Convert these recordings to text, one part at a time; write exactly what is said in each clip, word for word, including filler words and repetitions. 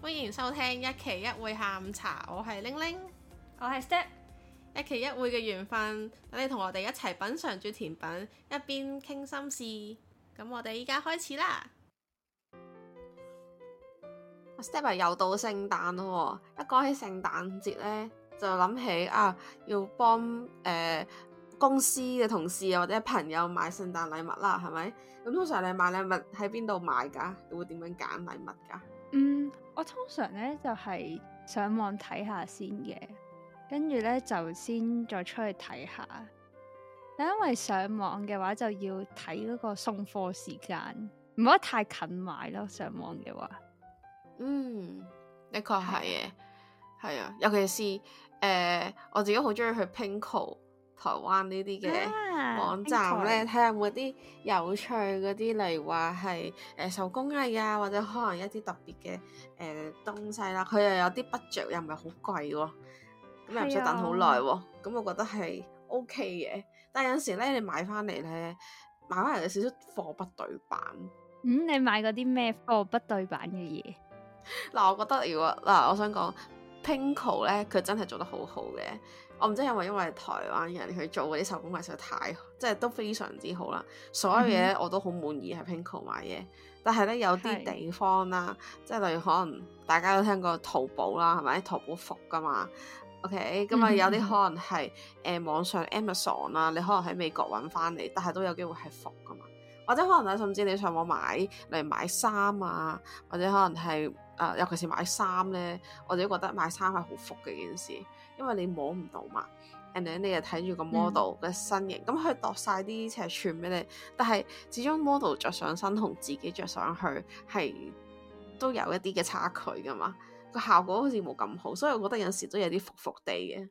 歡迎收聽一期一會下午茶，我係玲玲， 我係 Step， 一期一會嘅緣分，等你同我哋一齊品嚐住甜品，一邊傾心事。咁我哋依家開始啦。Step 又到聖誕咯，一講起聖誕節呢，就諗起啊，要幫誒、呃、公司嘅同事啊或者朋友買聖誕禮物啦，係咪？咁通常你買禮物喺邊度買㗎？你會點樣揀禮物㗎？ 嗯，我通常咧就係、是、上網睇下先嘅，跟住咧就先再出去睇下。但因為上網嘅話就要睇嗰個送貨時間，唔可以太近買咯。上網嘅話。 嗯，的確係嘅，係啊，尤其是誒、呃，我自己好中意去 Pinko 台灣呢啲嘅網站咧，睇下有冇啲有趣嗰啲，例如話係誒手工藝啊，或者可能一啲特別嘅誒、呃、東西啦，佢又有啲 budget 又唔係好貴喎，咁又唔使等好耐喎，咁我覺得係 OK 嘅。但係有時咧，你買翻嚟咧，買翻嚟有少少貨不對版。 嗯，你買嗰啲咩貨不對版嘅嘢？ 嗱，我覺得如果嗱，我想講 Pinko 咧，佢真係做得好好嘅。我唔知係咪因為台灣人佢做嗰啲手工藝實在太，即係都非常之好啦。所有嘢我都好滿意喺 Pinko 買嘢，但係咧有啲地方啦，即係例如可能大家都聽過淘寶啦，係咪？淘寶服噶嘛 ，OK，咁啊有啲可能係誒、呃、網上 Amazon 啦，你可能喺美國揾翻嚟，但係都有機會係服噶嘛。或者可能咧，甚至你上網買嚟買衫啊，或者可能係啊、呃，尤其是買衫咧，我自己覺得買衫係好服嘅件事，因為你摸唔到嘛，and then你又睇住個 model 嘅身形，咁佢、嗯、度晒啲尺寸俾你，但係始終 model 着上身同自己着上去係都有一啲嘅差距噶嘛，個效果好似冇咁好，所以我覺得有時都有啲服服地嘅。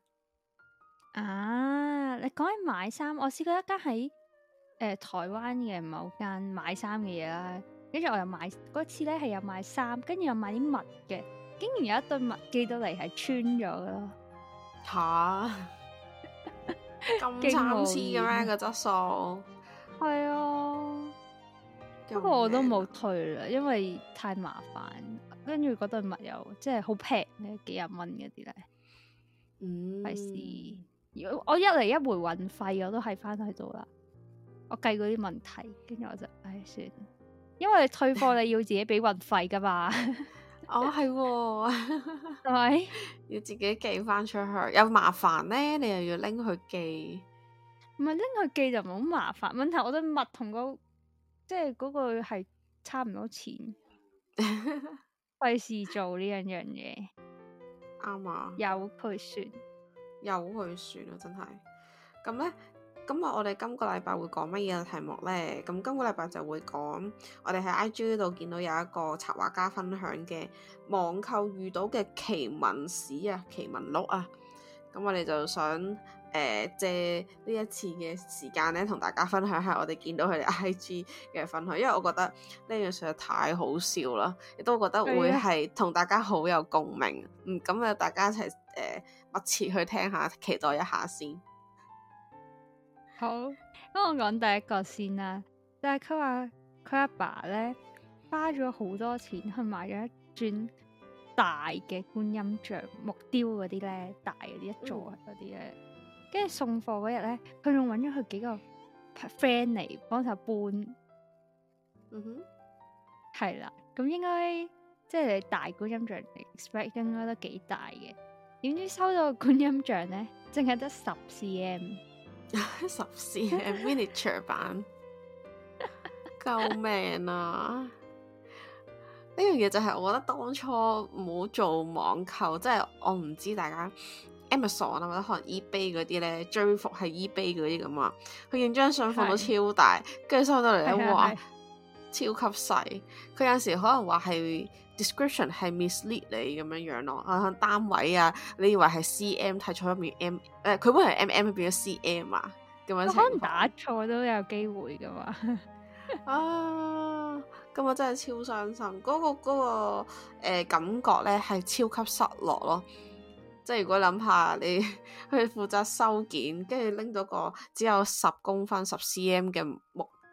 啊，你講起買衫，我試過一間喺誒、呃、台灣嘅某間買衫嘅嘢啦，跟住我又買嗰次咧係有買衫，跟住又買啲襪嘅，竟然有一對襪寄到嚟係穿咗咯。 吓，咁參差嘅咩個質素？ 係啊，不過我都冇退啦，因為太麻煩。跟住嗰對襪又即係好平咧，幾廿蚊嗰啲咧， 嗯， 費事。如果我一嚟一回運費，我都係翻去度啦。我計嗰啲問題，跟住我就唉算，因為你退貨你要自己俾運費噶嘛。 哦，係喎， 係咪要自己寄翻出去，有麻煩咧，你又要拎去寄。 唔係拎去寄就唔好麻煩，問題我對襪同個即係嗰個係差唔多錢，費事做呢樣樣嘢。 啱啊， 由佢算， 由佢算啊，真係。咁咧。咁啊，我哋今個禮拜會講乜嘢嘅題目呢？咁今個禮拜就會講我哋喺 I G 度見到有一個插畫家分享嘅網購遇到嘅奇聞史啊、奇聞錄啊。咁我哋就想誒、呃、借呢一次嘅時間咧，同大家分享下我哋見到佢哋 I G 嘅分享，因為我覺得呢樣實在太好笑啦，亦都覺得會係同大家好有共鳴。嗯，咁啊，大家一齊誒、呃、密切去聽下，期待一下先。 好，咁我講第一個先啦，就係佢話佢阿爸咧花咗好多錢去買咗一尊大嘅觀音像木雕嗰啲咧，大嗰啲一座嗰啲咧，跟住、嗯、送貨嗰日咧，佢仲揾咗佢幾個 friend 嚟幫手搬， 嗯哼，係啦，咁應該即係你大觀音像 expect 應該都幾大嘅，點知收到個觀音像咧，淨係得十 cm。 十 cm miniature 版，救命啊！呢樣嘢就係我覺得當初唔好做網購，即係我唔知大家 Amazon 啊或者可能 eBay 嗰啲咧，追伏係 eBay 嗰啲咁啊，佢影張相放到超大，跟住收到嚟咧，哇，超級細。佢有時可能話係 description 係 mislead 你咁樣樣咯，啊單位啊，你以為係 cm 睇錯一面 m， 誒佢本來係 mm 變咗 cm 啊，咁樣可能打錯都有機會噶嘛。 啊，咁我真係超傷心，嗰、嗰個嗰、嗰個誒、呃、感覺咧係超級失落咯。即係如果諗下你去負責收件，跟住拎到個只有十公分十 cm 嘅木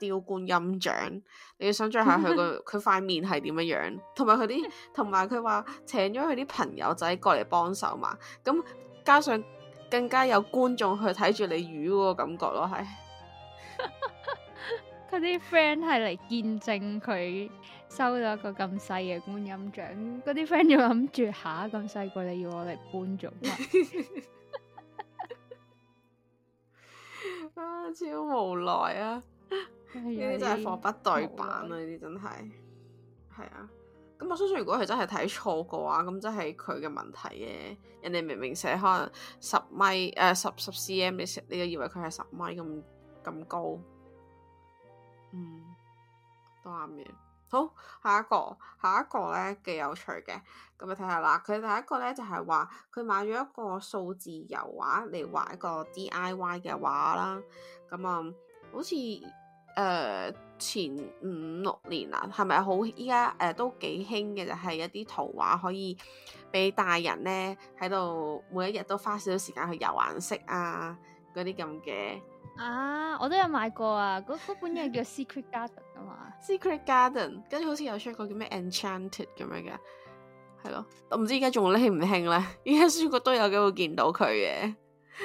雕觀音像，你要想象下佢個佢塊面係點樣樣，同埋佢啲同埋佢話請咗佢啲朋友仔過嚟幫手嘛，咁加上更加有觀眾去睇住你魚嗰個感覺咯，係。 佢啲 friend 係嚟見證佢收到一個咁細嘅觀音像，嗰啲 friend 就諗住下咁細個你要我嚟搬做乜？ 啊，超無奈啊！呢啲真係貨不對版啊！呢啲真係係啊。咁我相信如果佢真係睇錯嘅話，咁真係佢嘅問題嘅。人哋明明寫可能十米誒十十 cm，你你就以為佢係十米咁咁高。嗯，都啱嘅。好，下一個，下一個咧幾有趣嘅，咁你睇下啦。佢第一個咧就係話佢買咗一個數字油畫嚟畫一個 D I Y 嘅畫啦。咁啊、嗯，好似誒、呃、前五六年啊，係咪好依家誒都幾興嘅？就係、是、一啲圖畫可以俾大人咧喺度每一日都花少少時間去油顏色啊，嗰啲咁嘅。 啊！我都有買過啊，嗰嗰本嘢叫 Secret Garden 啊嘛。 Secret Garden，跟住好似有出一個叫咩 Enchanted 咁樣嘅，係咯。我唔知而家仲興唔興咧？而家書局都有機會見到佢嘅。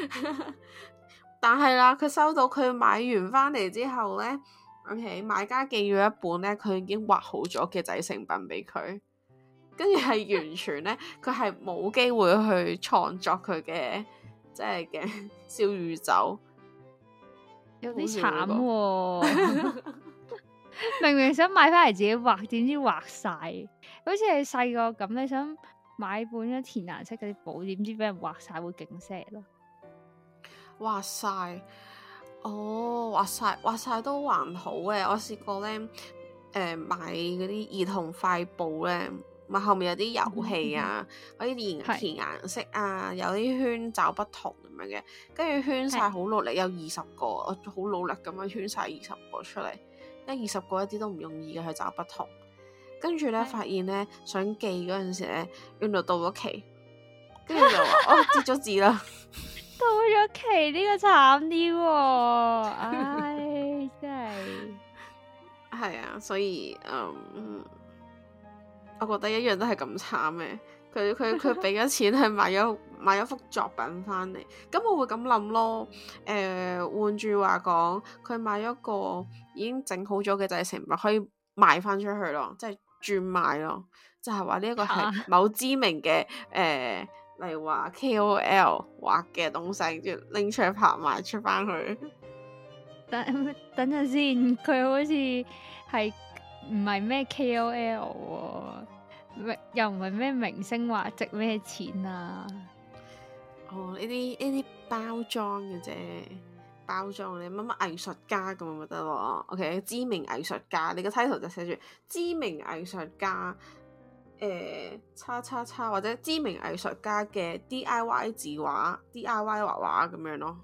但係啦，佢收到佢買完翻嚟之後咧，OK，買家寄咗一本咧，佢已經畫好咗嘅製成品俾佢，跟住係完全咧，佢係冇機會去創作佢嘅即係嘅小宇宙。 有啲慘喎，明明想買翻嚟自己畫，點知畫晒？好似你細個咁，你想買本咗填顏色嗰啲簿，點知俾人畫晒會勁 sad 咯？ 畫晒，哦，畫晒，畫晒都還好嘅。我試過咧，誒、呃、買嗰啲兒童快簿咧，咪後面有啲遊戲啊，可以填填顏色啊，有啲圈找不同咁樣嘅，跟住圈晒好努力，有二十個，我好努力咁樣圈晒二十個出嚟，因為二十個一啲都唔容易嘅去找不同，跟住咧發現咧想寄嗰陣時咧，原來到咗期，跟住就話哦截咗字啦， 到咗期呢、呢個慘啲喎，唉真係係啊，所以嗯。我覺得一樣都係咁慘嘅，佢佢佢俾咗錢去買咗買咗幅作品翻嚟，咁我會咁諗咯。誒、呃，換住話講，佢買咗個已經整好咗嘅製成品，可以賣翻出去咯，即係轉賣咯，就係話呢一個係某知名嘅誒、呃，例如話 K O L 畫嘅東西，跟住拎出去拍賣出翻去。 等等陣先，佢好似係。唔係咩 K O L 喎、啊，又唔係咩明星話值咩錢啊？ 哦，呢啲呢啲包裝嘅啫，包裝你乜乜藝術家咁咪得咯。OK，知名藝術家，你個 title 就寫住知名藝術家，誒、呃，叉叉叉或者知名藝術家嘅 D I Y 字畫、D I Y 畫畫咁樣咯。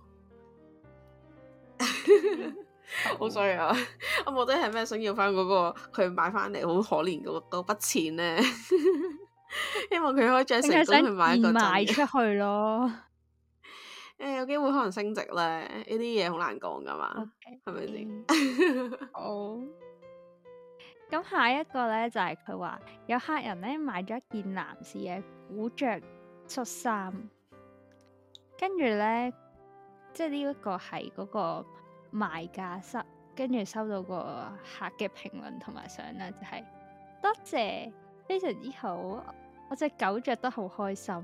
好衰啊！我冇得係咩想要翻嗰個佢買翻嚟好可憐嗰嗰筆錢咧，希望佢可以再成功去買一個賣出去咯。 誒、欸，有機會可能升值咧，呢啲嘢好難講噶嘛，係咪先？ 好。咁下一個咧就係佢話有客人咧買咗一件男士嘅古着恤衫，跟住咧即係呢一個係嗰個賣家室，跟住收到個客嘅評論同埋相啦，就係、是、多謝，非常之好，我隻狗着得好開心。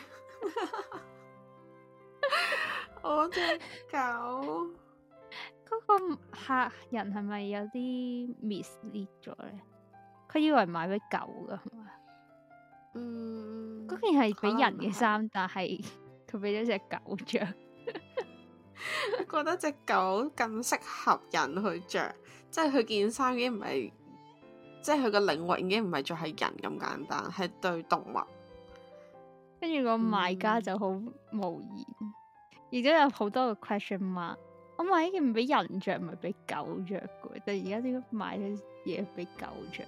我隻狗， 嗰個客人係咪有啲 mislead 咗咧？佢以為買俾狗噶係嘛？ 嗯， 嗰件係俾人嘅衫，但係佢俾咗隻狗着。 覺得隻狗更適合人去着，即係佢件衫已經唔係，即係佢個領域已經唔係再係人咁簡單，係對動物。 跟住個賣家就好無言，而家、嗯、有好多個 question mark。我買呢件唔俾人着，唔係俾狗着嘅，但係而家點解買咗嘢俾狗着？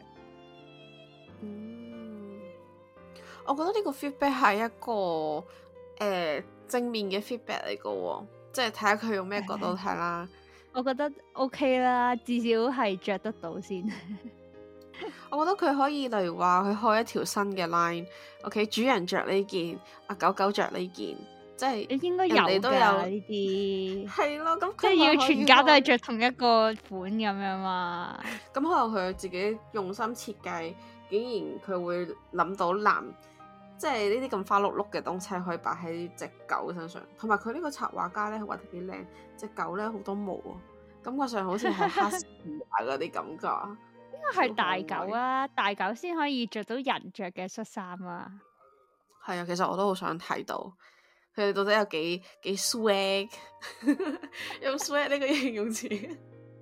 嗯，我覺得呢個 feedback 係一個誒、呃、正面嘅 feedback 嚟嘅喎。即係睇下佢用咩角度睇啦。 我覺得 OK 啦，至少係着得到先。 我覺得佢可以，例如話佢開一條新嘅 line，OK，、okay? 主人着呢件，阿狗狗着呢件，即係你應該有人哋都有呢啲， 係咯，咁即係要全家都係着同一個款咁樣嘛。 咁可能佢自己用心設計，竟然佢會諗到男，即係呢啲咁花碌碌嘅東西可以擺喺隻狗身上，同埋佢呢個插畫家咧畫得幾靚，隻狗咧好多毛啊，感覺上好似係哈士奇嗰啲感覺。 應該係大狗啊，大狗先可以着到人着嘅恤衫啊。 係啊，其實我都好想睇到佢哋到底有幾幾 swag， 用 swag 呢個形容詞。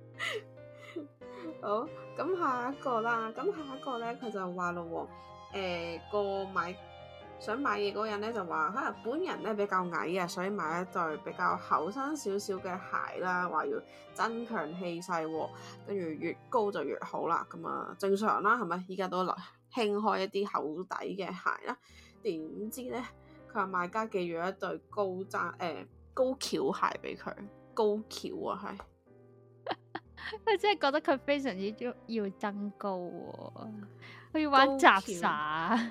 好，咁下一個啦，咁下一個咧，佢就話咯，誒、呃、個買想買嘢嗰個人咧就話，可能本人咧比較矮啊，所以買一對比較厚身少少嘅鞋啦，話要增強氣勢，跟住越高就越好啦。咁啊正常啦，係咪？依家都興開一啲厚底嘅鞋啦。點知咧，佢話賣家寄咗一對高踭誒、呃、高蹺鞋俾佢，高蹺啊係。 佢真係覺得佢非常之要要增高喎、哦，佢要玩雜耍。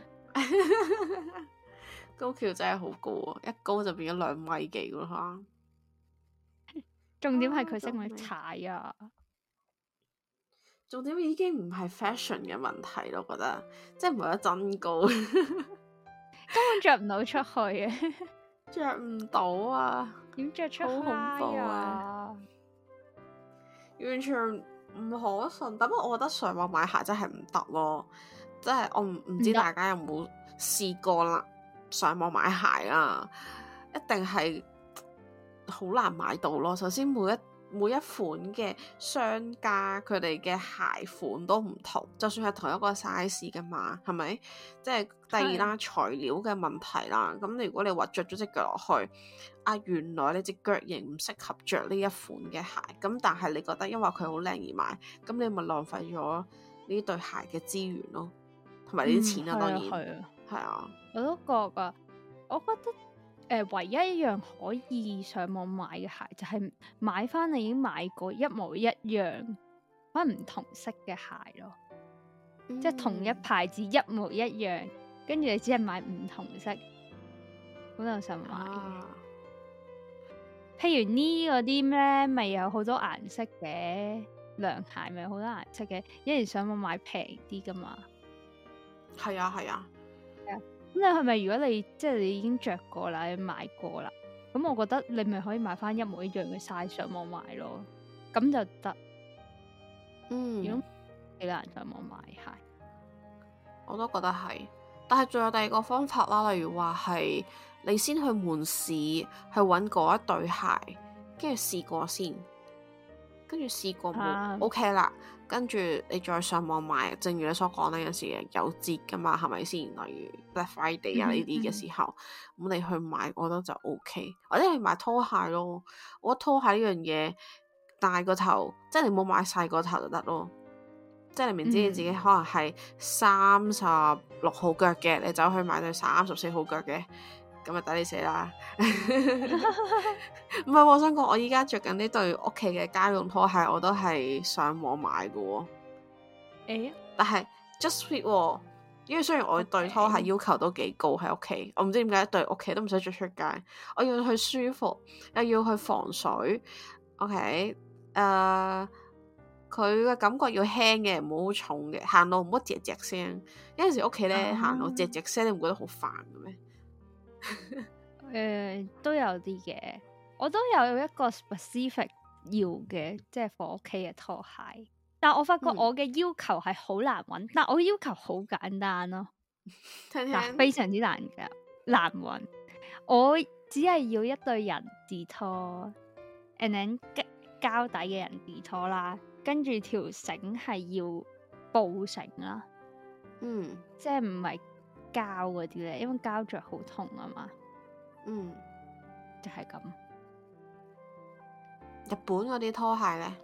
高蹺真係好高啊，一高就變咗兩米幾咯嚇。 重點係佢識唔識踩啊？ 重點已經唔係 fashion 嘅問題咯，我覺得即係唔係得增高， 根本着唔到出去嘅， 着唔到啊！ 點着出去好恐怖啊！完全唔可信。但不過我覺得上網買鞋真係唔得咯，即係我唔唔知大家有冇試過啦。上網買鞋啊，一定係好難買到咯。首先每一每一款嘅商家佢哋嘅鞋款都唔同，就算係同一個 size 噶嘛，係咪？即係第二啦，材料嘅問題啦。咁如果你話着咗隻腳落去，啊原來你隻腳型唔適合着呢一款嘅鞋，咁但係你覺得因為佢好靚而買，咁你咪浪費咗呢對鞋嘅資源咯，同埋呢啲錢啊，嗯、當然係啊，係啊， 我都覺噶，我覺得。誒、呃，唯一一樣可以上網買嘅鞋就係、是、買翻你已經買過一模一樣，可能唔同色嘅鞋咯，嗯、即係同一牌子一模一樣，跟住你只係買唔同色，好有心買。啊、譬如呢嗰啲咩，咪有好多顏色嘅涼鞋，咪有好多顏色嘅，一然上網買平啲噶嘛。 係啊，係啊。 咁你係咪如果你即係你已經着過啦，你買過啦，咁我覺得你咪可以買翻一模一樣嘅 size 上網買咯，咁就得。嗯，如果幾難上網買鞋， 我都覺得係。但係仲有第二個方法啦，例如話係你先去門市去揾嗰一對鞋，跟住試過先，跟住試過冇、啊、OK 啦。跟住你再上網買，正如你所講呢，有時有折噶嘛，係咪先？例如 Black Friday 啊呢啲嘅時候，咁、嗯嗯、你去買，我覺得就 OK。或者係買拖鞋咯，我覺得拖鞋呢樣嘢大個頭，即係你冇買細個頭就得咯。即係你明知你自己可能係三十六號腳嘅，你走去買對三十四號腳嘅。咁咪抵你死啦！唔係，我想講，我依家着緊呢對屋企嘅家用拖鞋，我都係上網買嘅喎。誒、 欸， 但係 just fit 喎，因為雖然我對拖鞋要求都幾高喺屋企，我唔知點解對屋企都唔使着出街，我要去舒服，又要去防水。OK，誒、uh，佢嘅感覺要輕嘅，唔好重嘅，行路唔好吱吱聲。有陣時屋企咧行路吱吱聲，你唔覺得好煩嘅咩？ 誒、呃，都有啲嘅，我都有一個 specific 要嘅，即係放屋企嘅拖鞋。但我發覺我嘅要求係好難揾，嗯、但我嘅要求好簡單咯， 聽聽嗱，非常之難噶，難揾。我只係要一對人字拖 and then 膠底嘅人字拖啦，跟住條繩係要布繩啦，嗯，即係唔係。膠嗰啲咧，因為膠着好痛啊嘛，嗯，就係咁。 日本嗰啲拖鞋咧，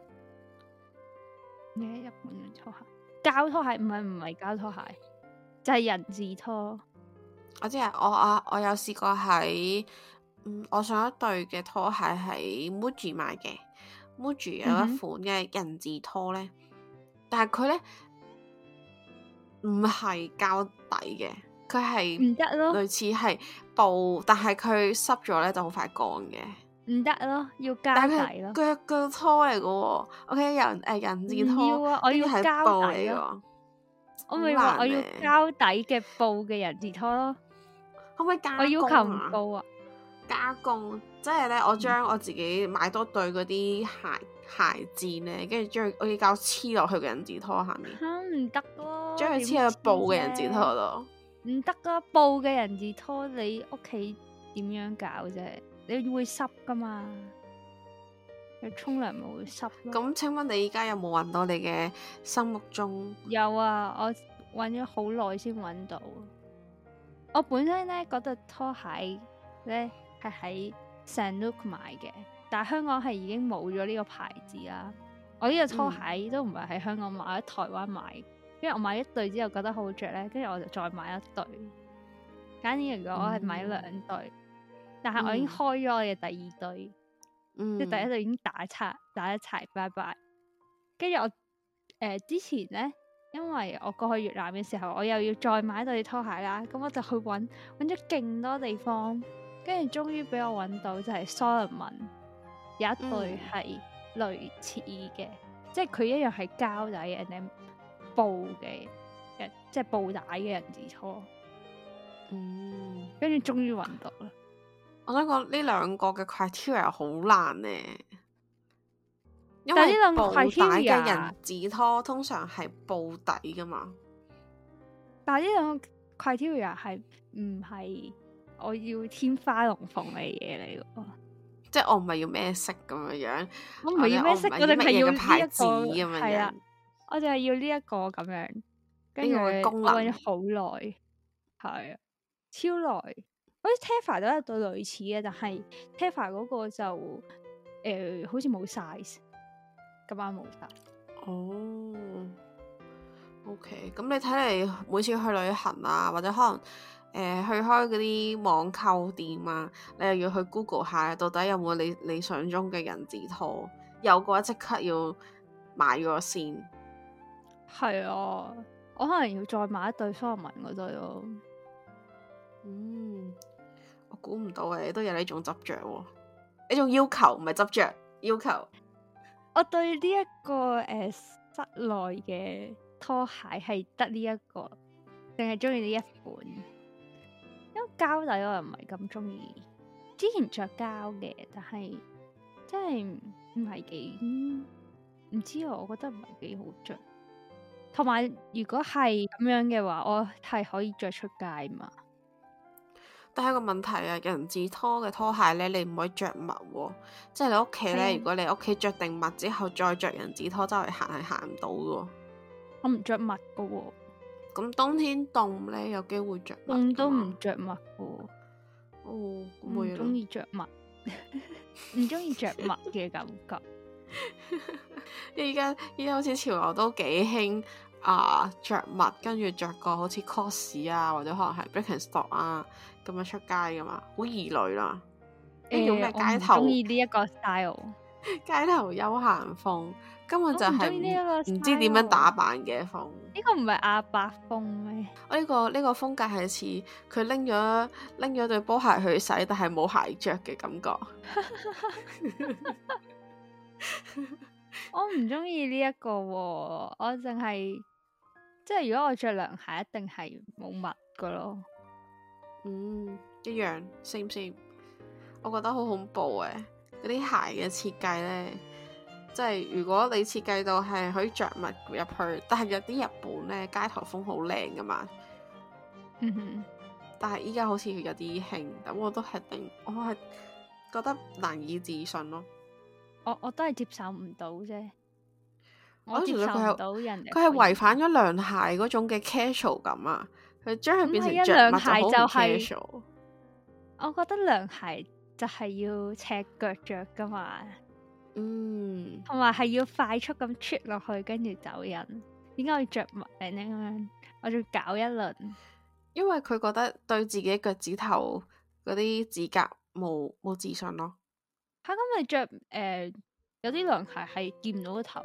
咩日本嘅拖鞋？膠拖鞋唔係唔係膠拖鞋，就係、是、人字拖。 我知啊，我我我有試過喺，嗯，我上一對嘅拖鞋喺 Muji 買嘅 Muji 有一款嘅人字拖咧，嗯、但係佢咧唔係膠底嘅，佢係唔得咯， 類似係布，但係佢濕咗咧就好快乾嘅。 唔得咯，要膠底咯。 腳腳拖嚟嘅喎，OK 人誒人字拖， 要啊，我要膠底咯。我咪話我要膠底嘅布嘅人字拖咯。 可唔可以加工啊？ 我要求唔高啊！ 加工即係咧，我將我自己買多對嗰啲鞋鞋墊咧，跟住將我要膠黐落去嘅人字拖下面。 嚇唔得咯！ 將佢黐喺布嘅人字拖度。唔得啊！布嘅人字拖你屋企點樣搞啫？你會濕噶嘛？你沖涼咪會濕咯。 咁請問你而家有冇揾到你嘅心目中？ 有啊，我揾咗好耐先揾到。我本身咧嗰對拖鞋咧係喺 Sanuk 買嘅，但係香港係已經冇咗呢個牌子啦。我呢個拖鞋都唔係喺香港買，喺台灣買。因為我買一對之後覺得好着咧，跟住我就再買一對。簡單嚟講，我係買兩對，嗯、但係我已經開咗我嘅第二對，嗯、即係第一對已經打叉打一齊，拜拜。跟住我誒、呃、之前咧，因為我過去越南嘅時候，我又要再買一對拖鞋啦，咁我就去揾揾咗勁多地方，跟住終於俾我揾到就係 Salomon 有一對係類似嘅，嗯、即係佢一樣係膠底嘅。布嘅人即係布帶嘅人字拖，嗯，跟住終於揾到啦。 我想講呢兩個嘅 criteria 好難呢，因為但係呢兩個布帶嘅人字拖通常係布底噶嘛。 但係呢兩個 criteria 係唔係我要天花龍鳳嘅嘢嚟嘅？ 即係我唔係要咩色咁樣樣， 我唔係要咩色，我哋係要呢牌一子咁樣係啦。我就係要呢一個咁樣，跟住我揾咗好耐，係啊，超耐。好似 Teva 都有對類似嘅，但係 Teva 嗰個就誒、呃、好似冇 size，咁啱冇晒。 哦，OK，咁你睇嚟每次去旅行啊，或者可能誒、呃、去開嗰啲網購店啊，你又要去 Google 下，到底有冇你理想中嘅人字拖？有嘅話即刻要買咗先。 係啊，我可能要再買一對 Salomon 嗰對咯。 嗯，我估唔到嘅，你都有呢種執着喎，呢種要求唔係執着，要求。 我對呢、這、一個誒、呃、室內嘅拖鞋係得呢一個，淨係中意呢一款。因為膠底我又唔係咁中意，之前着膠嘅，但係真係唔係幾唔知啊，我覺得唔係幾好着。同埋，如果係咁樣嘅話，我係可以着出街嘛？ 但係個問題啊，人字拖嘅拖鞋咧，你唔可以着襪喎。即係你屋企咧，的如果你屋企着定襪之後再着人字拖周圍行係行唔到嘅。 我唔着襪噶喎。 咁冬天凍咧，有機會着襪。 凍都唔着襪噶。 哦， 唔中意着襪，唔中意着襪嘅感覺。 依家依家好似潮流都幾興啊，着襪跟住着個好似 cos 啊，或者可能係 Birkenstock 啊咁樣出街噶嘛，好異類啦。呢種咩街頭？我唔中意呢一個 style。 街頭休閒風根本就係唔知點樣打扮嘅風。 呢個唔係阿伯風咩？ 我呢、呢個呢、呢個風格係似佢拎咗拎咗對波鞋去洗，但係冇鞋着嘅感覺。 我唔中意呢一個、哦，我淨係即係如果我着涼鞋，一定係冇襪噶咯。 嗯，一樣 same same。我覺得好恐怖嘅嗰啲鞋嘅設計咧，即係如果你設計到係可以着襪入去，但係有啲日本咧街頭風好靚噶嘛。 嗯哼， 但係依家好似有啲興，咁我都係定，我係覺得難以置信咯。 我我都係接受唔到啫，我接受唔到人哋。 佢係違反咗涼鞋嗰種嘅 casual 感啊！佢將佢變成着涼鞋就係、是， 我覺得涼鞋就係要赤腳着噶嘛。 嗯， 同埋係要快速咁出落去，跟住走人。點解要着襪咧？咁樣我仲搞一輪， 因為佢覺得對自己腳趾頭嗰啲指甲冇冇自信咯。 吓，咁你着誒有啲涼鞋係見唔到個頭。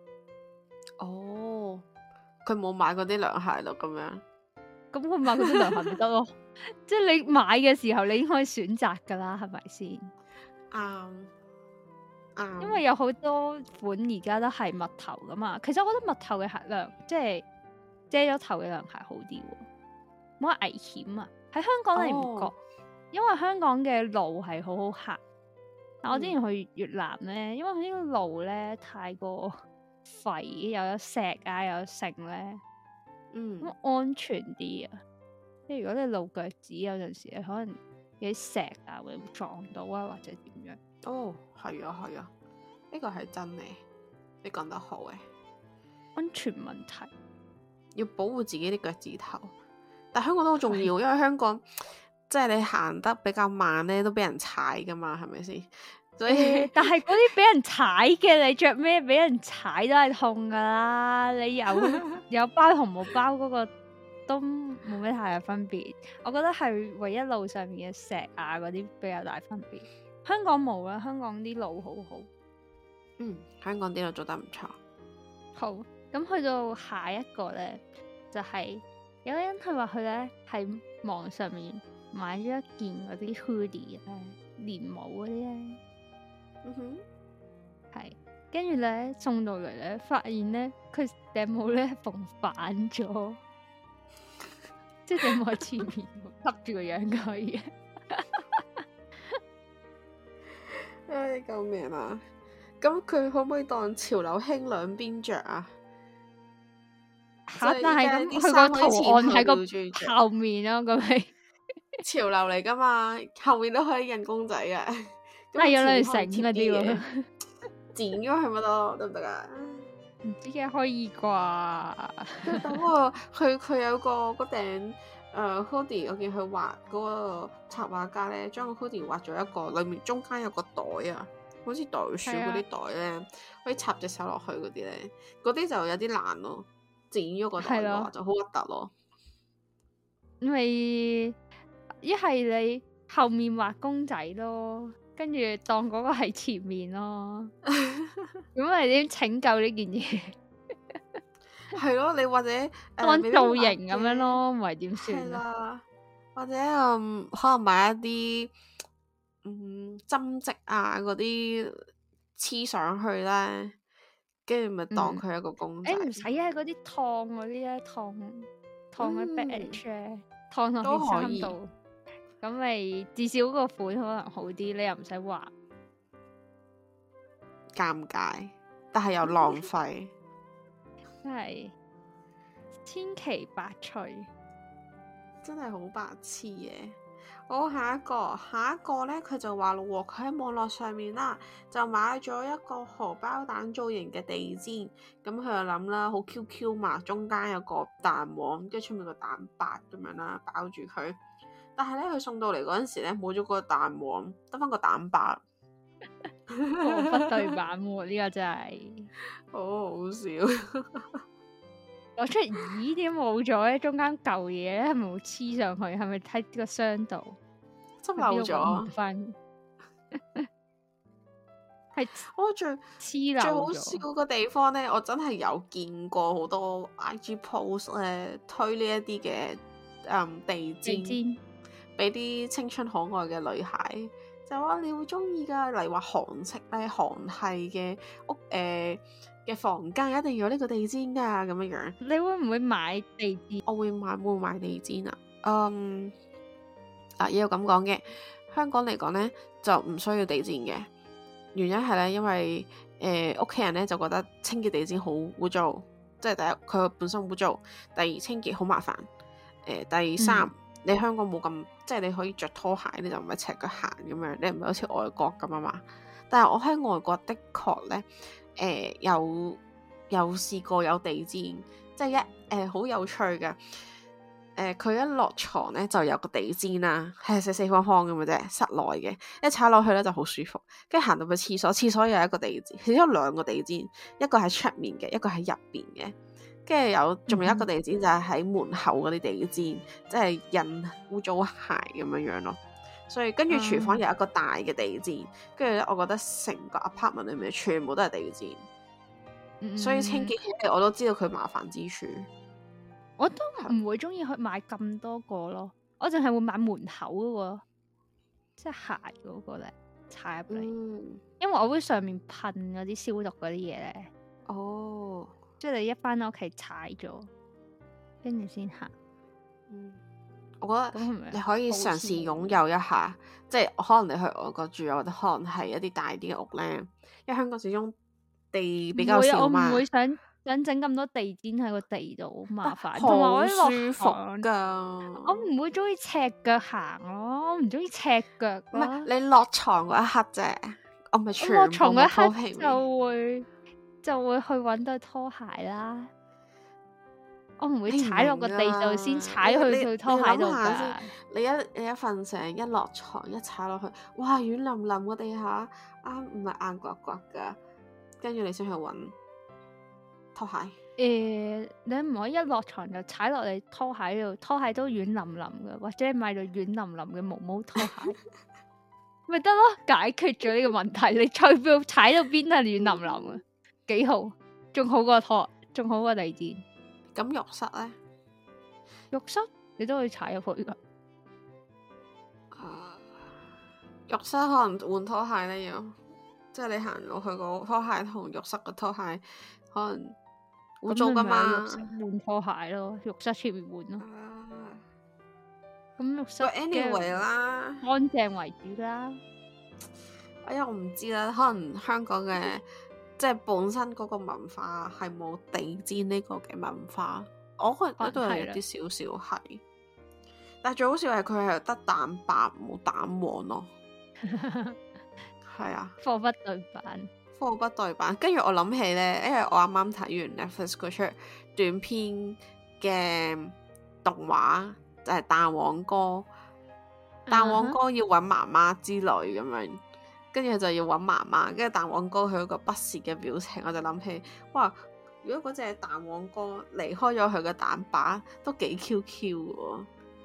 哦，佢冇買嗰啲涼鞋咯，咁樣。 咁佢買嗰啲涼鞋咪得咯？即係你買嘅時候，你已經可以選擇噶啦，係咪先？ 啱啱。 因為有好多款而家都係襪頭噶嘛。其實我覺得襪頭嘅鞋涼，即係遮咗頭嘅涼鞋好啲喎，冇乜危險啊。喺香港你唔覺， 哦因為香港嘅路係好好行。但我之前去越南咧，因為佢呢個路咧太過廢，又有石啊，又有剩咧， 嗯， 咁安全啲啊。即係如果你露腳趾有陣時，可能有啲石啊會撞到啊，或者點樣。 哦，係啊，係啊，呢個係真嘅，你講得好嘅。 安全問題要保護自己啲腳趾頭，但香港都好重要，因為香港即係你行得比較慢咧，都俾人踩噶嘛，係咪先？所以， 欸、但係嗰啲俾人踩嘅，你着咩俾人踩都係痛噶啦。你有有包同冇包嗰個都冇咩太大分別。我覺得係唯一路上面嘅石啊嗰啲比較大分別。香港冇啦，香港啲路好好。 嗯，香港啲路做得唔錯。 好，咁去到下一個咧，就係、是、有個人佢話佢咧喺網上面買咗一件嗰啲 hoodie 咧，連帽嗰啲咧。 嗯哼， 係，跟住咧送到嚟咧，發現咧佢頂帽咧縫反咗，即係頂帽喺前面笠住個樣佢嘅。 唉，救命啊！咁佢可唔可以當潮流興兩邊着啊？ 吓，但係咁佢個圖案喺個後面咯，咁係潮流嚟噶嘛，後面都可以印公仔嘅。 但係有兩條繩嗰啲喎， 剪咗佢咪得，得唔得啊？ 唔知嘅可以啩？ 等我佢佢有個嗰頂誒 hoodie，我見佢畫嗰個插畫家咧，將個 hoodie 畫咗一個，裏面中間有個袋啊，好似袋鼠嗰啲袋咧，啊、可以插隻手落去嗰啲咧，嗰啲就有啲難咯，剪咗個袋嘅話就好核突咯。 因為一係你後面畫公仔咯。跟住當嗰個係前面咯，咁你點拯救呢件嘢？ 係咯，你或者、呃、 當造型咁樣咯，唔係點算啊？或者嗯，可能買一啲嗯針織啊嗰啲黐上去咧，跟住咪當佢一個公仔。誒唔使啊，嗰啲燙嗰啲咧，燙燙嘅 badge 咧，燙落都件衫度。咁咪至少個款可能好啲，你又唔使畫， 尷尬，但係又浪費， 真係千奇百趣， 真係好白痴嘅。好，下一個，下一個咧，佢就話咯，佢喺網絡上面啦，就買咗一個荷包蛋造型嘅地氈，咁佢就諗啦，好 Q Q 嘛，中間有個蛋黃，跟住出面個蛋白咁樣啦，包住佢。但係咧，佢送到嚟嗰陣時咧，冇咗個蛋黃，得翻個蛋白， 貨不對版喎，呢個真係好好笑。 我出咦點冇咗咧？中間舊嘢咧係咪會黐上去？係咪喺個箱度執漏咗？ 翻係我最黐漏最好笑個地方咧，我真係有見過好多 I G post 咧推呢一啲嘅誒地氈。俾啲青春可愛嘅女孩，就話你會中意噶，例如話韓式咧、韓系嘅屋誒嘅、呃、房間一定要有呢個地氈噶咁樣樣。 你會唔會買地氈？ 我會買，會買地氈啊。嗯，啊，也有咁講嘅。香港嚟講咧，就唔需要地氈嘅，原因係咧，因為誒屋企人咧就覺得清潔地氈好污糟，即係第一佢本身污糟，第二清潔好麻煩，誒、呃、第三。嗯你香港冇咁，即係你可以着拖鞋，你就唔係赤腳行咁樣，你唔係好似外國咁啊嘛。但係我喺外國的確咧，誒、呃、有有試過有地氈，即係一誒好、呃、有趣嘅。誒、呃、佢一落床咧就有個地氈啦，係四四方方咁嘅啫，室內嘅，一踩落去咧就好舒服。跟住行到去廁所，廁所又有一個地氈，其實有兩個地氈，一個喺出面嘅，一個喺入邊嘅。跟住有，仲有一個地氈就係喺門口嗰啲地氈，即係印污糟鞋咁樣樣咯。 所以跟住廚房有一個大嘅地氈，跟住咧，我覺得成個 apartment 裏面全部都係地氈，嗯、所以清潔起嚟我都知道佢麻煩之處。 我都唔會中意去買咁多個咯，我淨係會買門口嗰個，即係鞋嗰個咧，踩入嚟，嗯、因為我會上面噴嗰啲消毒嗰啲嘢咧。 哦， 即係你一翻到屋企踩咗，跟住先行。 嗯，我覺得你可以嘗試擁有一下，即係可能你去外國住，或者可能係一啲大啲嘅屋咧，因為香港始終地比較少嘛。 我唔會想想整咁多地氈喺個地度，好麻煩， 同埋好舒服噶。 我唔會中意赤腳行咯，我唔中意赤腳。 唔係你落床嗰一刻啫，我咪全部落床嗰一刻皮就會就會去搵對拖鞋啦。我唔會踩落個地度先踩去對拖鞋度噶。 你一你一瞓醒一落床一踩落去，哇軟腍腍個地下，啊唔係硬刮刮噶，跟住你先去搵拖鞋。誒、 欸，你唔可以一落床就踩落你拖鞋度，拖鞋都軟腍腍嘅，或者買到軟腍腍嘅毛毛拖鞋，咪得咯，解決咗呢個問題。你踩到踩到邊都係軟腍腍啊，幾好，仲好過拖，仲好過地氈。 咁浴室咧？ 浴室你都可以踩入去噶。 Uh, 浴室可能換拖鞋咧，要即係你行落去個拖鞋同浴室個拖鞋可能污糟噶嘛。 浴室換拖鞋咯，浴室出面換咯。咁、uh, 浴室 anyway 啦， 乾淨為主啦。 哎呀，我唔知啦，可能香港嘅。即係本身嗰個文化係冇地氈呢個嘅文化，我覺得都係有啲少少係。但係最好笑係佢係得蛋白冇蛋黃咯，係啊， 貨不對版， 貨不對版。跟住我諗起咧，因為我啱啱睇完 Netflix 嗰出短片嘅動畫，就係、是、蛋黃哥，蛋黃哥要搵媽媽之類咁樣。跟住就要揾媽媽，跟住蛋黃哥佢嗰個不屑嘅表情，我就諗起，哇！如果嗰隻蛋黃哥離開咗佢嘅蛋白，都幾 Q Q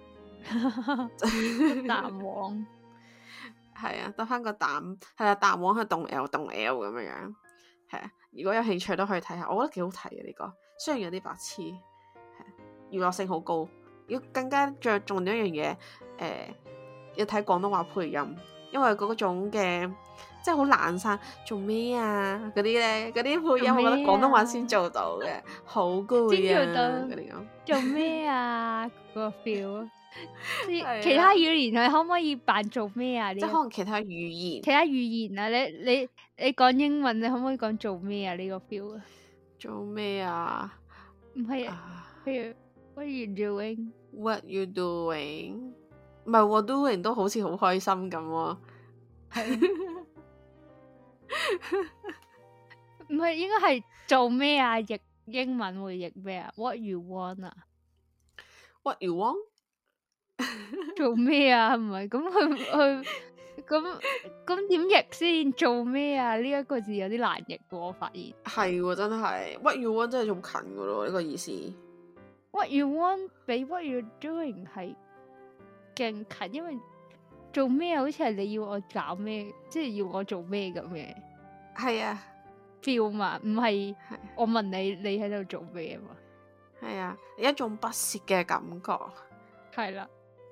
喎。 蛋黃係啊，得翻個蛋，係啊，蛋黃係動 L 動 L 咁樣樣，係啊。如果有興趣都可以睇下，我覺得幾好睇嘅呢個，雖然有啲白痴，係娛樂性好高。要更加着重一樣嘢，誒、呃，要睇廣東話配音。因為嗰種嘅即係好懶散，做咩啊嗰啲咧，嗰啲配音我覺得廣東話先做到嘅，好攰啊嗰啲咁。 做咩啊？嗰個 feel，其他語言你可唔可以扮做咩啊？ 即係可能其他語言， 其他語言啊，你你你講英文，你可唔可以講做咩啊？呢個 feel 啊？ 做咩啊？ 唔係啊，譬如 What you doing？What you doing？唔係我 doing 都好似好開心咁喎， 係唔係應該係做咩啊？譯英文會譯咩啊 ？What you want 啊 ？What you want？ 做咩啊？唔係咁佢佢咁咁點譯先？做咩啊？呢一個字有啲難譯喎，我發現係喎，真係 What you want 真係仲近噶咯，呢個意思。 What you want 比 What you doing 係勁近，因為做咩好似係你要我搞咩，即係要我做咩咁嘅。 係啊 feel 嘛，唔係我問你你喺度做咩啊嘛。 係啊，一種不屑嘅感覺。 係啦，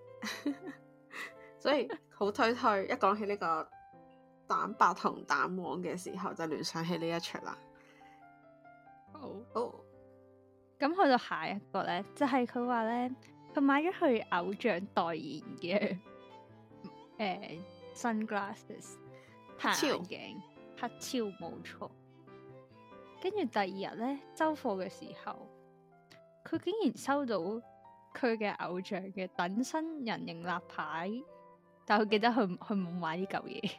所以好推推，一講起呢個蛋白同蛋黃嘅時候，就聯想起呢一出啦。 好， 好， 咁去到下一個咧，就係佢話咧。佢買咗佢偶像代言嘅誒、呃、sunglasses 太陽眼鏡，黑超冇錯。跟住第二日咧收貨嘅時候，佢竟然收到佢嘅偶像嘅等身人形立牌，但係佢記得佢佢冇買呢嚿嘢。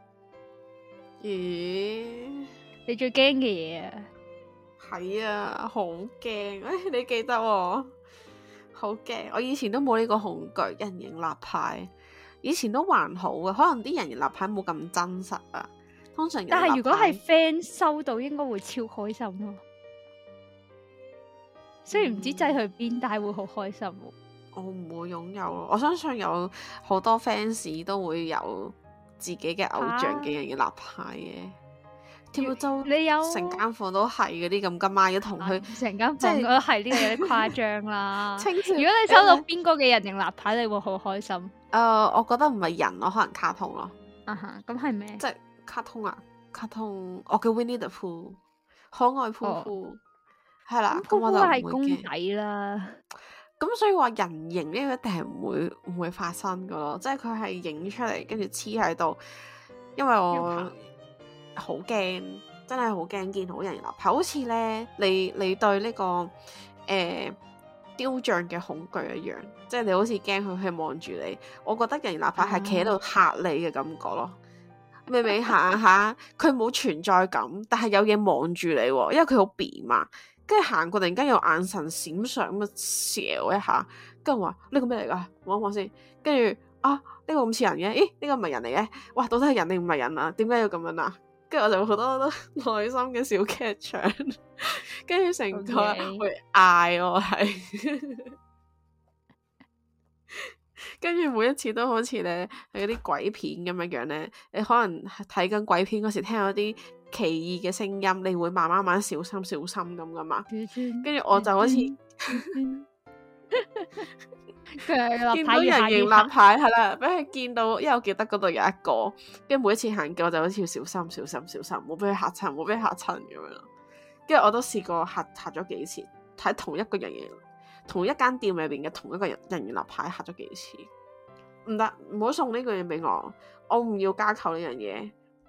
咦？ 你最驚嘅嘢啊？ 係啊，好驚！誒，你記得喎？好驚！我以前都冇呢個恐懼，人形立牌以前都還好嘅，可能啲人形立牌冇咁真實啊。通常但係如果係 friend 收到，應該會超開心咯。雖然唔知擠去邊，但係會好開心喎。 我唔會擁有咯。我相信有好多 fans 都會有自己嘅偶像嘅人嘅立牌嘅。跳州你有成間房都係嗰啲咁，今晚要同佢成間即係房都係呢個有啲誇張啦。 清朝如果你收到邊個嘅人形立牌，你會好開心。 誒、呃，我覺得唔係人咯，可能卡通咯。 啊哈，咁係咩？ 即係卡通啊，卡通，我叫 Winnie the Pooh，可愛噗噗，係啦。咁我就係唔會公仔嘅。 啦。 咁所以話人形呢個一定係唔會唔會發生噶咯，即係佢係影出嚟跟住黐喺度，因為我好驚，真係好驚見到人形立牌，好似咧你你對呢、這個誒、呃、雕像嘅恐懼一樣，即係你好似驚佢係望住你。我覺得人形立牌係企喺度嚇你嘅感覺咯。明明行下，佢冇存在感，但係有嘢望住你，因為佢好扁嘛。跟住行過，突然間有眼神閃爍咁啊，睄一下，跟住我話呢個咩嚟噶？望一望先。跟住啊，呢、這個咁似人嘅，咦？呢、這個唔係人嚟嘅，哇！到底係人定唔係人啊？點解要咁樣啊？跟住我就好多好多內心嘅小劇場，跟住成個會嗌我係，跟住每一次都好似咧係嗰啲鬼片咁樣樣咧，你可能睇緊鬼片嗰時聽到啲奇異嘅聲音，你會慢慢慢小心小心咁噶嘛？跟住我就好似見到人形立牌係啦，俾佢見到，因為我記得嗰度有一個，跟住每一次行嘅我就好似要小心小心小心，唔好俾佢嚇親，唔好俾佢嚇親咁樣咯。跟住我都試過嚇嚇咗幾次，睇同一個人形，同一間店裏邊嘅同一個人人形立牌嚇咗幾次，唔得，唔好送呢個嘢俾我，我唔要加購呢樣嘢。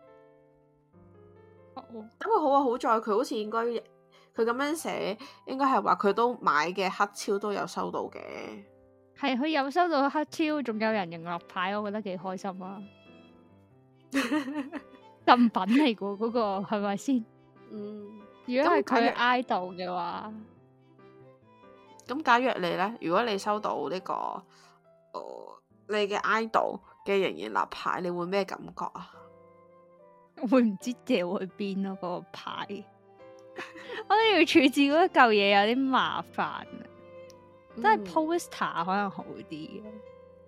咁佢好啊，好在佢好似應該佢咁樣寫，應該係話佢都買嘅黑超都有收到嘅。 係佢有收到黑超，仲有人形立牌，我覺得幾開心啊！贈品嚟噶嗰個係咪先？嗯，如果係佢 idol 嘅話， 咁假若你咧，如果你收到呢、這個，呃、你嘅 idol 嘅人形立牌，你會咩感覺啊？ 我會唔知掉去邊咯，嗰、那個牌，我都要處置嗰一嚿嘢有啲麻煩啊！真係 poster 可能好啲嘅、嗯、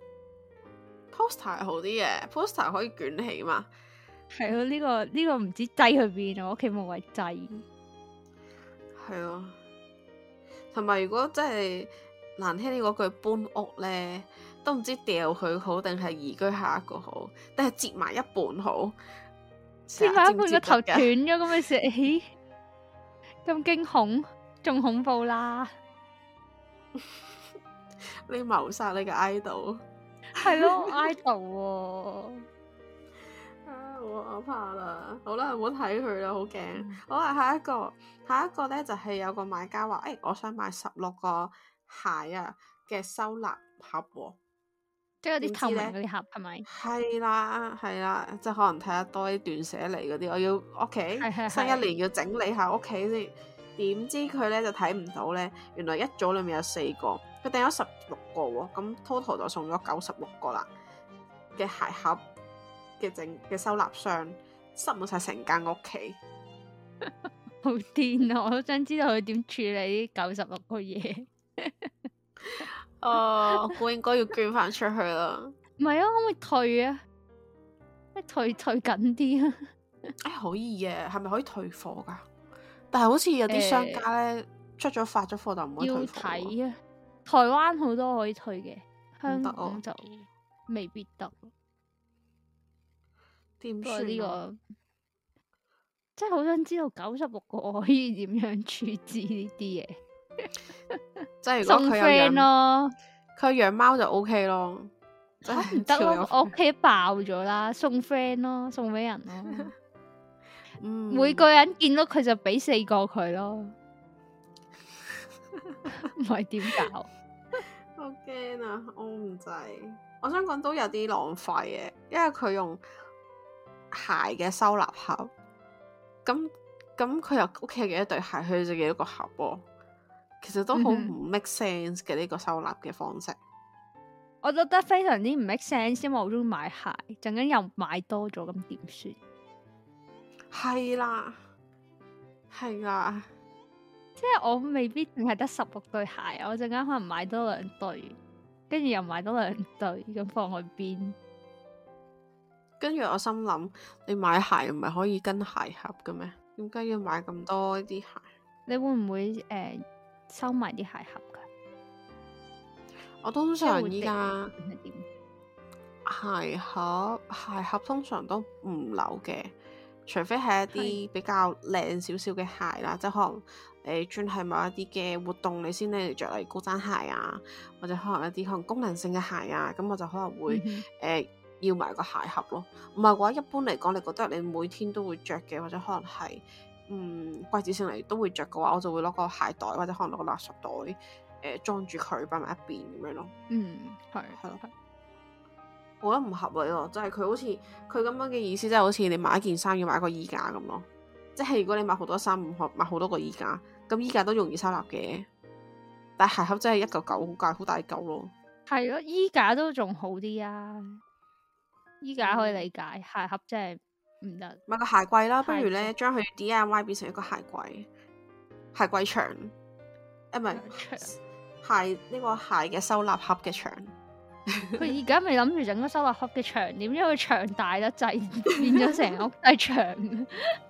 ，poster 係好啲嘅 ，poster 可以捲起嘛。 係咯，呢、這個呢、這個唔知擠去邊啊！我屋企冇位擠。 係咯，同埋如果真係難聽啲嗰句搬屋咧，都唔知掉佢好定係移居下一個好，定係折埋一半好。 折埋一半個頭斷咗咁嘅事，咦？咁驚恐，仲恐怖啦！ 你謀殺你嘅 idol， 係咯 idol 喎， 啊我我怕啦，好啦，唔好睇佢啦，好驚。嗯、好啦，下一個，下一個咧就係、是、有個買家話，誒、欸，我想買十六個鞋啊嘅收納盒、哦， 即係有啲透明嗰啲盒係咪？ 係啦係啦，即係可能睇得多啲斷捨離嗰啲，我要屋企新一年要整理下屋企先。點知佢咧就睇唔到咧，原來一組裏面有四個，佢訂咗十六個喎，咁 total 就送咗九十六個啦嘅鞋盒嘅整嘅收納箱，塞滿晒成間屋企， 好癲啊！我都想知道佢點處理呢九十六個嘢。 哦，我應該要捐翻出去啦。 唔係啊，可唔可以退啊？退退緊啲啊！ 誒、哎，可以嘅，係咪可以退貨噶？但係好似有啲商家咧、欸、出咗發咗貨就唔可以退貨。要睇啊！ 台灣好多可以退嘅，香港行就未必得。 點算呢個？ 真係好想知道九十六個我可以點樣處置呢啲嘢。 即係如果佢有養咯，佢養貓就 O K 咯。 唔得咯，我屋企爆咗啦，送 friend 咯，送俾人咯。嗯、每個人見到佢就俾四個佢咯，唔係點搞？ 好驚啊！我唔制，我想講都有啲浪費嘅，因為佢用鞋嘅收納盒，咁咁佢又屋企有幾多對鞋，佢就幾多個盒喎。其實都好唔 make sense 嘅呢、嗯、個收納嘅方式。 我覺得非常之唔 make sense，因為我中意買鞋，陣間又買多咗，咁點算？ 係啦，係啦， 即係我未必淨係得十六對鞋，我陣間可能買多兩對， 跟住又買多兩對咁放去邊。 跟住我心諗，你買鞋唔係可以跟鞋盒嘅咩？點解要買咁多啲鞋？ 你會唔會誒、呃、收埋啲鞋盒噶？ 我通常依家係點？ 鞋盒鞋盒通常都唔留嘅，除非係一啲比較靚少少嘅鞋啦，即係可能誒專係某一啲嘅活動你先拎嚟着，例如高踭鞋啊，或者可能一啲可能功能性嘅鞋啊，咁我就可能會誒、 嗯呃、要埋個鞋盒咯。唔係嘅話，一般嚟講，你覺得你每天都會着嘅，或者可能係嗯季節性嚟都會着嘅話，我就會攞個鞋袋或者可能攞個垃圾袋誒裝住佢擺埋一邊咁樣咯。 嗯，係係咯。我覺得唔合理咯，就係佢好似佢咁樣嘅意思，即係好似你買一件衫要買個衣架咁咯。即係如果你買好多衫，唔可買好多個衣架，咁衣架都容易收納嘅。但係鞋盒真係一嚿嚿好大好大嚿咯。 係咯，衣架都仲好啲啊，衣架可以理解，嗯、鞋盒真係唔得。 買個鞋櫃啦，不如咧櫃將佢 D I Y 變成一個鞋櫃，鞋櫃牆，誒唔係鞋呢、呢個鞋嘅收納盒嘅牆。 佢而家咪諗住整個收納盒嘅牆，點知佢牆大得滯，變咗成屋都係牆。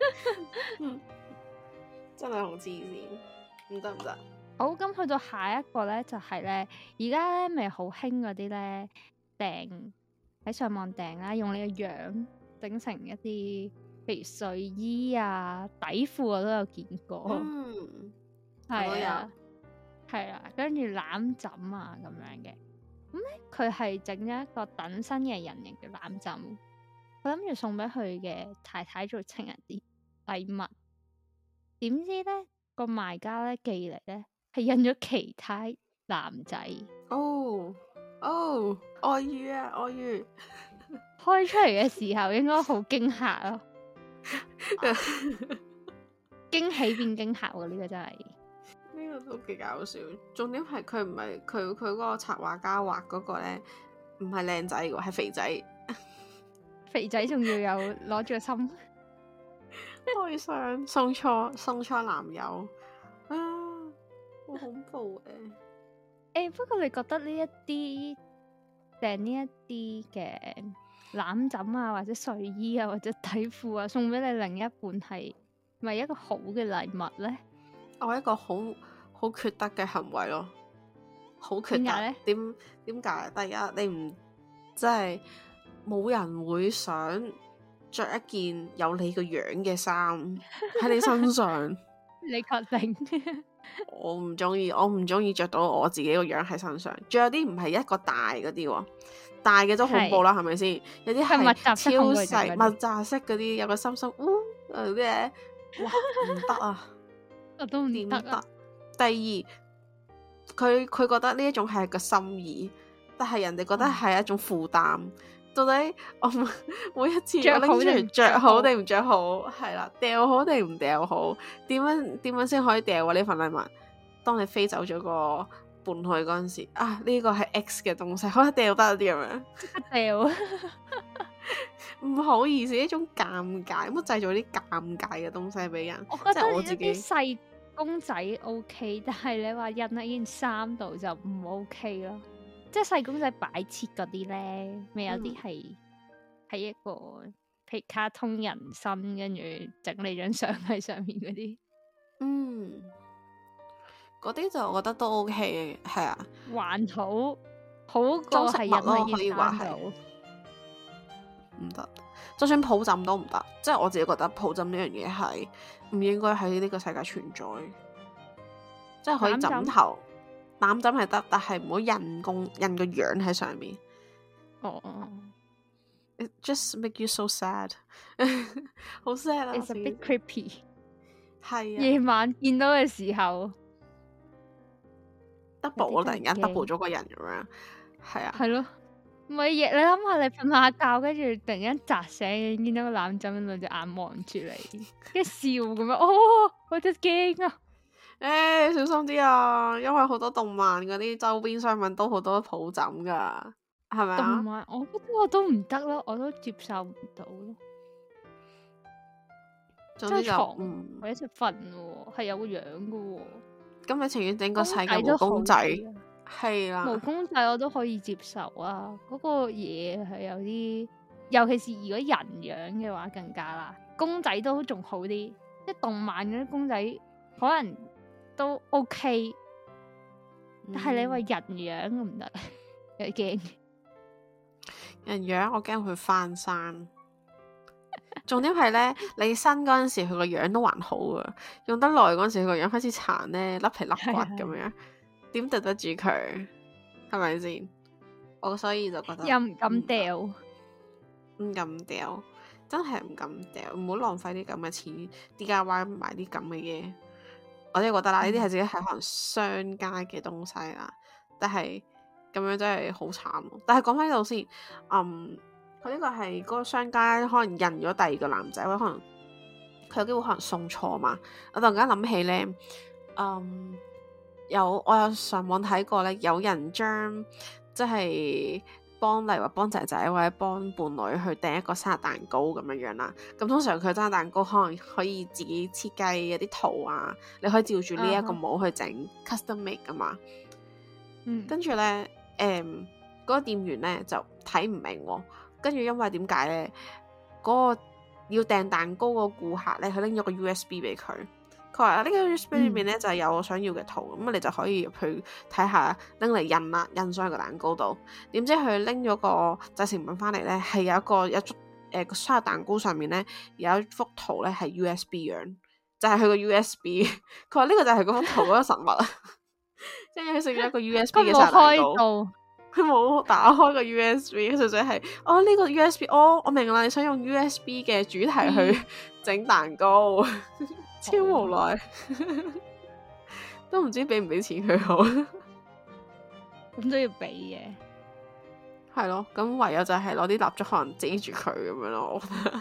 真係好黐線，唔得唔得。 好，咁去到下一個咧，就係、是、咧，而家咧咪好興嗰啲咧訂喺上網訂啦，用你嘅樣整成一啲，譬如睡衣啊、底褲我都有見過。 嗯， 係啊，係啊，跟住攬枕啊咁樣嘅。咁咧，佢係整咗一個等身嘅人形嘅攬枕，佢諗住送俾佢嘅太太做情人節禮物。點知咧個賣家咧寄嚟咧係印咗其他男仔。 哦哦，愛魚啊愛魚！ 開出嚟嘅時候應該好驚嚇咯，驚喜變驚嚇喎！呢、這個真係。 呢個都幾搞笑，重點係佢唔係佢佢嗰個插畫家畫嗰個咧，唔係靚仔嘅，係肥仔。 肥仔仲要有攞住個心， 愛上送錯送錯男友啊，好恐怖嘅。誒、 欸，不過你覺得呢一啲訂呢一啲嘅攬枕啊，或者睡衣啊，或者底褲啊，送俾你另一半係咪一個好嘅禮物咧？ 我係一個好好缺德嘅行為咯，好缺德。 點解咧？ 點點解？第一，你唔即係冇人會想着一件有你個樣嘅衫喺你身上。 你確定？ 我唔中意，我唔中意着到我自己個樣喺身上。仲有啲唔係一個大嗰啲喎，大嘅都恐怖啦，係咪先？有啲係超細密集式嗰啲，有個心心，嗚嗰啲嘢，哇唔得啊！ 我都唔得啊！ 第二，佢佢覺得呢一種係個心意，但係人哋覺得係一種負擔。嗯、到底我每一次我拎出嚟着好定唔着好？係啦，掉好定唔掉好？點樣點樣先可以掉啊？呢份禮物，當你飛走咗個伴侶嗰陣時，啊呢、這個係 X 嘅東西，可以掉得啲咁樣， 即刻掉。 唔好意思，呢種尷尬，乜製造啲尷尬嘅東西俾人？ 我覺得我自己細公仔 OK，但係你話印喺件衫度就唔 OK 咯。即係細公仔擺設嗰啲咧，咪有啲係係一個譬如卡通人身，跟住整你張相喺上面嗰啲。 嗯，嗰啲就我覺得都 OK 嘅，係啊， 還好好過係印喺件衫度。 唔得，就算抱枕都唔得，即係我自己覺得抱枕呢樣嘢係唔應該喺呢個世界存在，即係可以枕頭攬枕係得，但係唔好印公印個樣喺上面。 哦、 oh.，It just make you so sad， 好 sad 啊 ！It's a bit creepy。 係啊， 夜晚見到嘅時候 double 我突然間 double 咗個人咁樣，係啊， 係咯。唔係，你諗下，你瞓下覺，跟住突然間扎醒，見到個攬枕兩隻眼望住你，跟住笑咁樣，哦，我真係驚啊！ 誒、欸，小心啲啊，因為好多動漫嗰啲周邊商品都好多抱枕噶，係咪啊？ 動漫，我覺得我都唔得咯，我都接受唔到咯。 總之就床嗯， 我一齊瞓喎，係有個樣噶喎。 咁你情願整個細嘅毛公仔， 係啦， 毛公仔我都可以接受啊，嗰、那個嘢係有啲，尤其是如果人樣嘅話更加啦，公仔都仲好啲，即係動漫嗰啲公仔可能都 OK，嗯、但係你話人樣唔得，有啲驚。 人樣我驚佢翻生。重點係咧，你新嗰陣時佢個樣都還好啊，用得耐嗰陣時佢個樣開始殘咧，甩皮甩骨咁樣，點對得住佢？係咪先？我所以就覺得又唔敢掉， 唔敢掉，真係唔敢掉，唔好浪費啲咁嘅錢 D I Y 買啲咁嘅嘢。我真係覺得啦，呢啲係自己係可能商家嘅東西啦，但係咁樣真係好慘。但係講翻呢度先，嗯。佢呢個係嗰個商家可能印咗第二個男仔，或者可能佢有機會可能送錯嘛。我突然間諗起咧，嗯，有我有上網睇過咧，有人將即係幫例如話幫仔仔或者幫伴侶去訂一個生日蛋糕咁樣樣啦。咁通常佢生日蛋糕可能可以自己設計一啲圖啊，你可以照住呢一個模去整、uh huh. custom make 噶嘛。嗯，跟住咧，誒、嗯，嗰、那個店員咧就睇唔明喎。跟住因為點解咧？嗰、那個要訂蛋糕個顧客咧，佢拎咗個 U S B 俾佢。佢話呢個 U S B 裏面咧、嗯、就係有我想要嘅圖，咁你就可以入去睇下，拎嚟印啦，印上去個蛋糕度。點知佢拎咗個製成品翻嚟咧，係有一個有誒個生日蛋糕上面咧有一幅圖咧係 U S B 樣，就係佢個 U S B。佢話呢個就係嗰幅圖嗰個實物啊。跟住佢食咗一個 U S B 嘅生日蛋糕。佢冇打開個 U S B，純粹係哦呢、這個 U S B，哦我明啦，你想用 U S B 嘅主題去整蛋糕，嗯、超無奈，都唔知俾唔俾錢佢好， 咁都要俾嘅， 係咯，咁唯有就係攞啲蠟燭可能遮住佢咁樣咯，我覺得。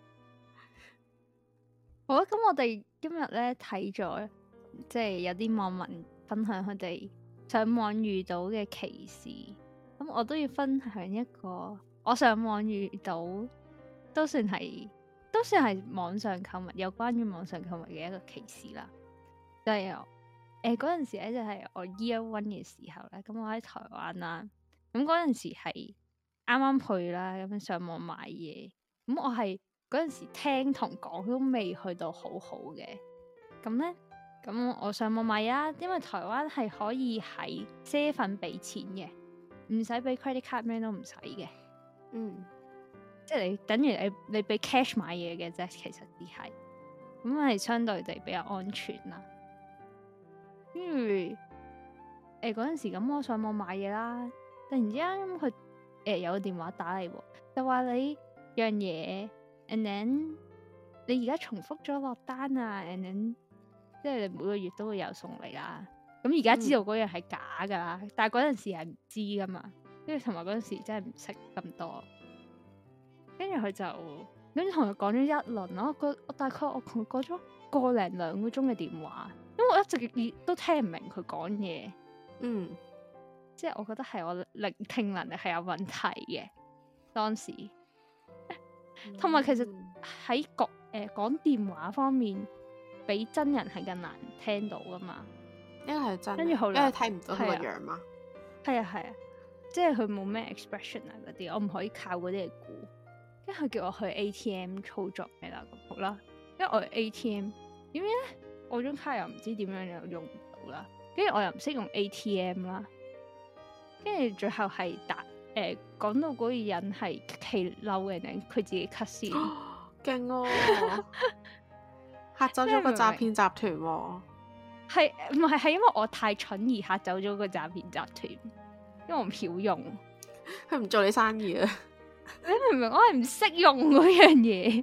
好啦，咁我哋今日咧睇咗，即係有啲網民分享佢哋上網遇到嘅歧視，咁我都要分享一個我上網遇到都算係都算係網上購物有關於網上購物嘅一個歧視啦。就係誒嗰陣時咧，就係我 year one 嘅時候咧，咁我喺台灣啦，咁嗰陣時係啱啱去啦，咁樣上網買嘢，咁我係嗰陣時聽同講都未去到好好嘅，咁咧。咁我上網買啊，因為台灣係可以喺啡粉俾錢嘅，唔使俾 credit card 咩都唔使嘅。嗯，即係你等於你你俾 cash 買嘢嘅啫，其實只係咁係相對地比較安全啦。跟住誒嗰陣時咁，我上網買嘢啦，突然之間咁佢誒有個電話打嚟，就話你樣嘢 and then 你而家重複咗落單啊 and then。即係你每個月都會有送嚟啦，咁而家知道嗰樣係假噶啦，嗯、但係嗰陣時係唔知噶嘛，跟住同埋嗰陣時真係唔識咁多，跟住佢就跟住同佢講咗一輪咯，我我大概我同佢講咗個零兩個鐘嘅電話，因為我一直都聽唔明佢講嘢，嗯，即係我覺得係我聆聽能力係有問題嘅當時，同埋、嗯、其實喺講誒講電話方面。比真人係更難聽到噶嘛？ 因為係真， 跟住後來因為睇唔到佢個樣嘛。 係啊係啊，即係佢冇咩 expression 啊嗰啲，我唔可以靠嗰啲嚟估。跟住佢叫我去 A T M 操作嘅啦，咁好啦。因為我 A T M 點樣咧？我張卡又唔知點樣又用唔到啦。跟住我又唔識用 A T M 啦。跟住最後係打誒講到嗰個人係氣嬲嘅，定佢自己 cut 線？ 勁哦！嚇走咗個詐騙集團喎， 係唔係係因為我太蠢而嚇走咗個詐騙集團？因為我唔曉用， 佢唔做你生意啊！ 你明唔明？我係唔識用嗰樣嘢，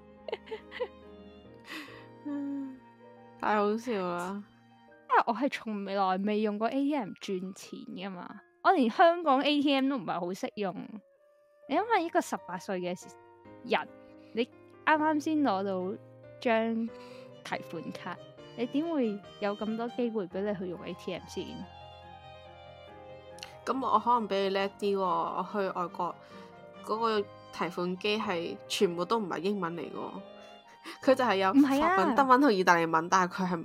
太好笑啦！ 因為我係從未來未用過 A T M 賺錢噶嘛，我連香港 A T M 都唔係好識用。你因為一個十八歲嘅人，你啱啱先攞到張提款卡，你點會有咁多機會俾你去用 A T M 先？ 咁我可能比你叻啲喎，我去外國嗰個提款機係全部都唔係英文嚟嘅，佢就係有法文、德文同意大利文，但係佢係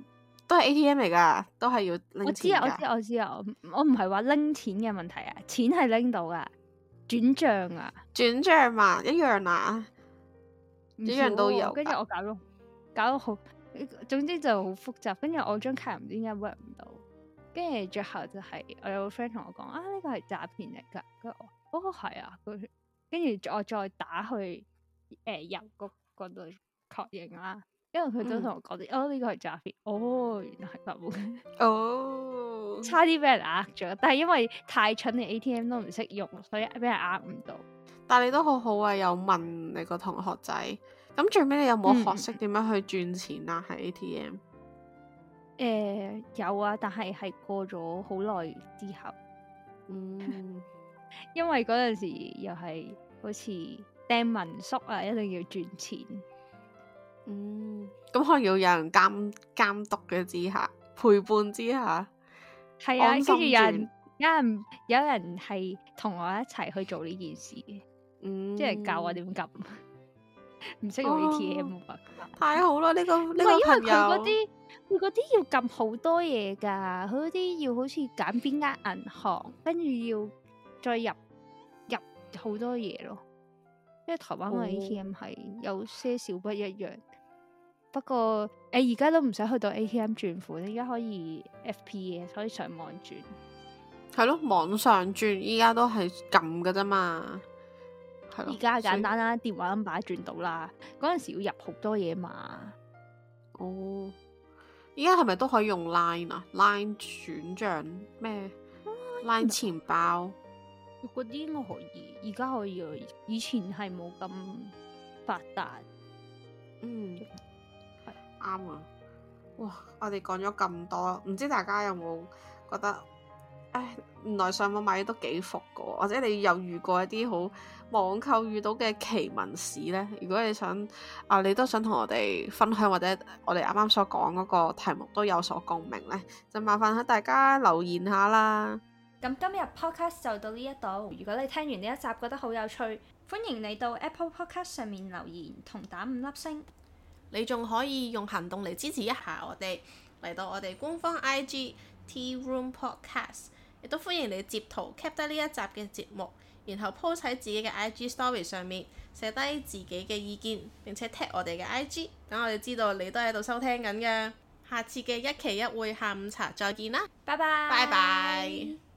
都係 A T M 嚟㗎，都係要拎我知啊， 錢㗎。 我知我知啊，我唔係話拎錢嘅問題啊，錢係拎到㗎，轉帳啊， 轉帳嘛，一樣啊， 唔一樣都有㗎。 跟住我搞到搞到好，總之就好複雜。跟住我張卡唔知點解 work 唔到，跟住最後就係我有個 friend 同我講啊，呢個係詐騙嚟㗎。跟住我哦係啊，跟住我再打去誒郵局嗰度確認啦。因為佢都同我講啲、嗯、哦呢、呢個係詐騙，哦原來係咁嘅， 哦差啲俾人呃咗，但係因為太蠢，你 A T M 都唔識用，所以俾人呃唔到。 但係你都好好啊，有問你個同學仔，咁最尾你有冇學識點樣去轉錢啊？喺 A T M？誒、 呃、有啊，但係係過咗好耐之後， 嗯， 因為嗰陣時又係好似掟民宿啊，一定要轉錢。 嗯，咁可能要有人監監督嘅之下，陪伴之下， 係啊，跟住有人有人有人係同我一齊去做呢件事嘅，嗯，即係教我點撳，唔識用 A T M 啊， 太好啦！呢、這個呢個朋友， 因為佢嗰啲佢嗰啲要撳好多嘢噶，佢嗰啲要好似揀邊間銀行，跟住要再入入好多嘢咯。因為台灣嘅 A T M 係有些少不一樣，哦、不過誒而家都唔使去到 A T M 轉款，而家可以 F P 嘅，可以上網轉。係咯，網上轉依家都係撳㗎啫嘛。係咯， 而家簡單啦，電話 number 轉到啦。嗰陣時要入好多嘢嘛。 哦，依家係咪都可以用 Line 啊 ？Line 轉賬咩、啊、？Line 錢包。 嗰啲應該可以，而家可以啊。以前係冇咁發達。 嗯，係啱啊！哇，我哋講咗咁多，唔知大家有冇覺得，唉，原來上網買嘢都幾伏噶，或者你有遇過一啲好網購遇到嘅奇聞史呢？如果你想啊，你都想同我哋分享，或者我哋啱啱所講嗰個題目都有所共鳴呢，就麻煩喺大家留言下啦。 咁今日 podcast 就到呢一度。如果你聽完呢一集覺得好有趣，歡迎你到 Apple Podcast 上面留言同打五粒星。 你仲可以用行動嚟支持一下我哋，嚟到我哋官方 I G Tea Room Podcast， 亦都歡迎你截圖 cap 低呢一集嘅節目，然後 post 喺自己嘅 I G Story 上面寫低自己嘅意見，並且 tag 我哋嘅 I G， 等我哋知道你都喺度收聽緊嘅。下次嘅一期一會下午茶再見啦， 拜拜， 拜拜。